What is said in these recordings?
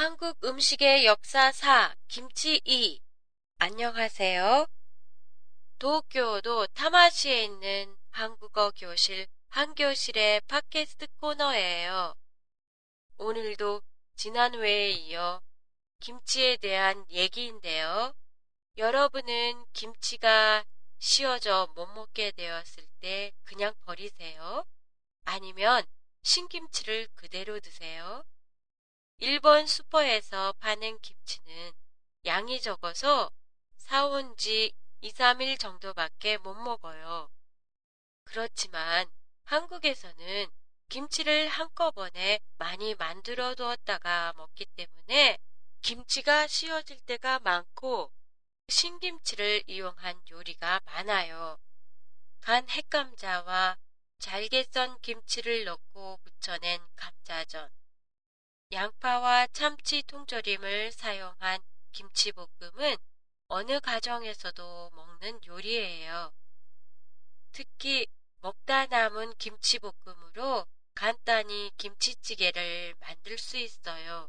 한국 음식의 역사 4, 김치 2. 안녕하세요. 도쿄도 타마시에 있는 한국어 교실 한교실의 팟캐스트 코너예요. 오늘도 지난 회에 이어 김치에 대한 얘기인데요. 여러분은 김치가 씌어져 못 먹게 되었을 때 그냥 버리세요? 아니면 신김치를 그대로 드세요? 일본 슈퍼에서 파는 김치는 양이 적어서 사온 지 2, 3일 정도밖에 못 먹어요. 그렇지만 한국에서는 김치를 한꺼번에 많이 만들어 두었다가 먹기 때문에 김치가 씌어질 때가 많고 신김치를 이용한 요리가 많아요. 간 햇감자와 잘게 썬 김치를 넣고 부쳐낸 감자전, 양파와 참치 통조림을 사용한 김치볶음은 어느 가정에서도 먹는 요리예요. 특히 먹다 남은 김치볶음으로 간단히 김치찌개를 만들 수 있어요.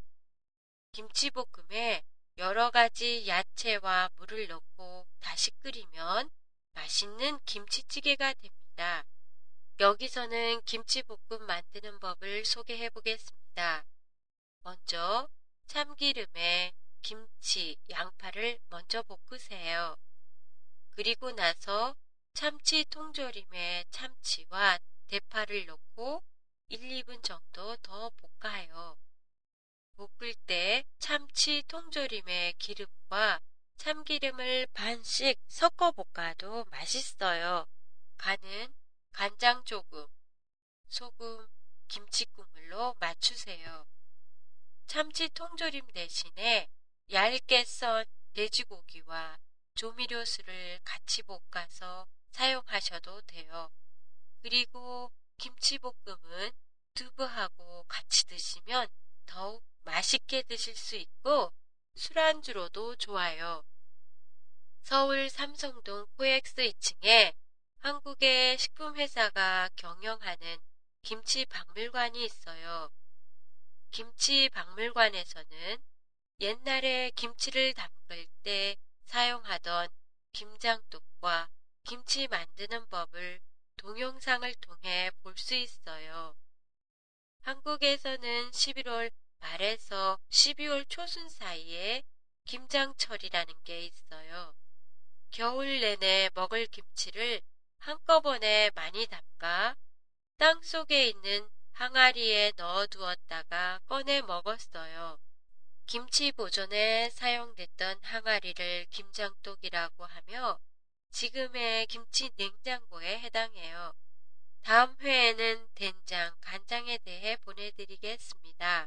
김치볶음에 여러 가지 야채와 물을 넣고 다시 끓이면 맛있는 김치찌개가 됩니다. 여기서는 김치볶음 만드는 법을 소개해 보겠습니다. 먼저 참기름에 김치, 양파를 먼저 볶으세요. 그리고 나서 참치 통조림에 참치와 대파를 넣고 1, 2분 정도 더 볶아요. 볶을 때 참치 통조림에 기름과 참기름을 반씩 섞어 볶아도 맛있어요. 간은 간장 조금, 소금, 김치국물로 맞추세요. 참치 통조림 대신에 얇게 썬 돼지고기와 조미료수를 같이 볶아서 사용하셔도 돼요. 그리고 김치볶음은 두부하고 같이 드시면 더욱 맛있게 드실 수 있고 술안주로도 좋아요. 서울 삼성동 코엑스 2층에 한국의 식품회사가 경영하는 김치 박물관이 있어요. 김치 박물관에서는 옛날에 김치를 담글 때 사용하던 김장뚝과 김치 만드는 법을 동영상을 통해 볼 수 있어요. 한국에서는 11월 말에서 12월 초순 사이에 김장철이라는 게 있어요. 겨울 내내 먹을 김치를 한꺼번에 많이 담가 땅 속에 있는 항아리에 넣어 두었다가 꺼내 먹었어요. 김치 보존에 사용됐던 항아리를 김장독이라고 하며 지금의 김치 냉장고에 해당해요. 다음 회에는 된장, 간장에 대해 보내드리겠습니다.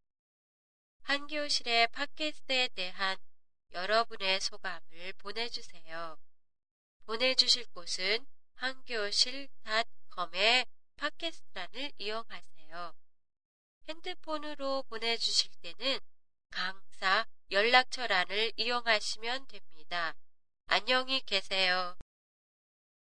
한교실의 팟캐스트에 대한 여러분의 소감을 보내주세요. 보내주실 곳은 한교실.com의 팟캐스트란을 이용하세요. 핸드폰으로 보내주실 때는 강사 연락처란을 이용하시면 됩니다. 안녕히 계세요.